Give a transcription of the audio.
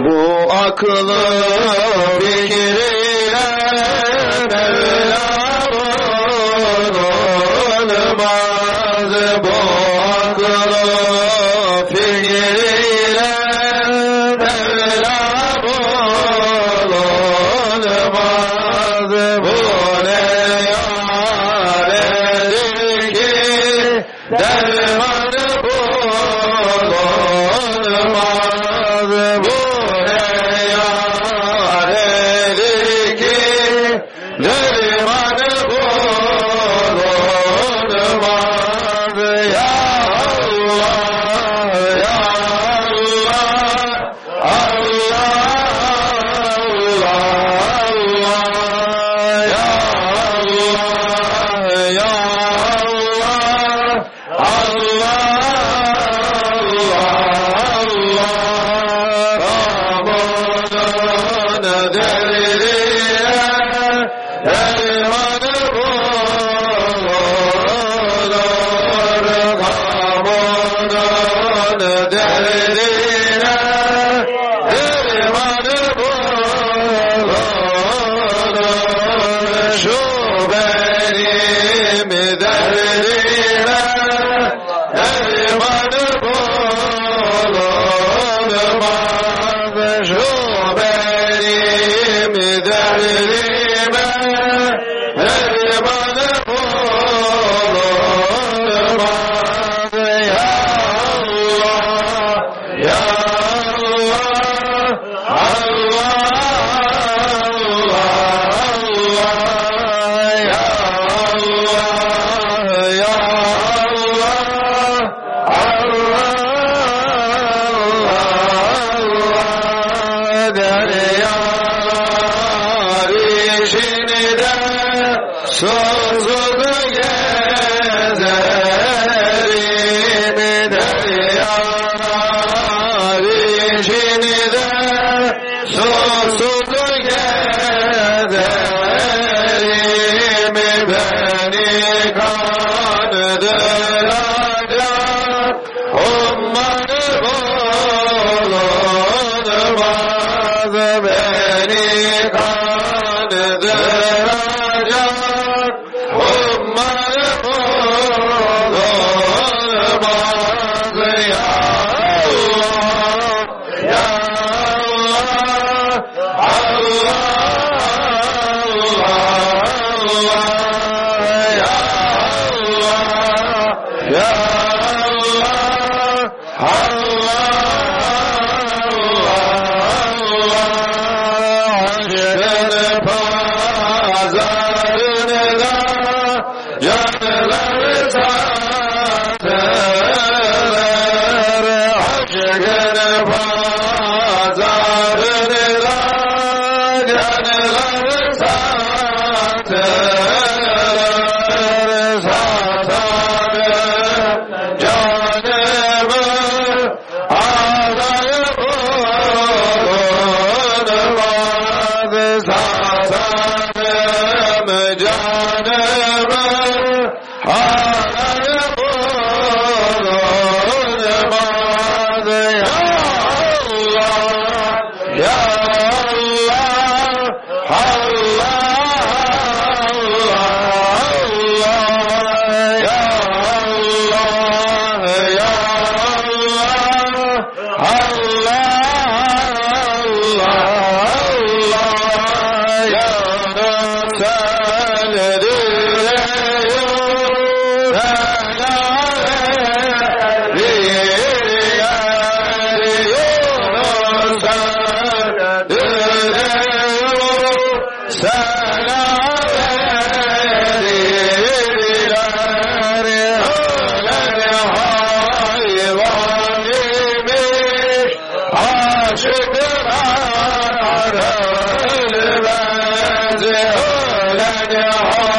Bu aklı fikriyle Mevlam olmaz. Bu aklı fikriyle Mevlam olmaz. Bu ne yaredir ki dermanı bulunmaz. Bu ne yaredir ki dermanı bulunmaz. Ya Allah, ya Allah, Allah, Allah, ya Allah, ya Allah, Rabbunun derdiye dermanı bulunur. Rabbunun derdine dermanı bulunur. Şu benim derdime dermanı bulunmaz. Şu benim derdime dermanı bulunmaz. Ya Allah, ya Allah, Allah, Allah, ya Allah, ya Allah, deryalar içinde sonsuz gezerim. Deryalar içinde sonsuz gezerim. Beni kandıracak ummanı bulunmaz. Beni kandıracak ummanı bulunmaz. Ya Allah, ya Allah, Allah, ya Allah, ya Allah, aşkın pazarında canlar satarlar. Aşkın pazarında canlar satarlar. Satarım canımı ağlayıp olmaz. Satarım canımı ağlayıp olmaz. Ya Allah, ya Allah, Allah, ya Allah, ya Allah, Allah, ya Resulü aşıklar ölmez, ölen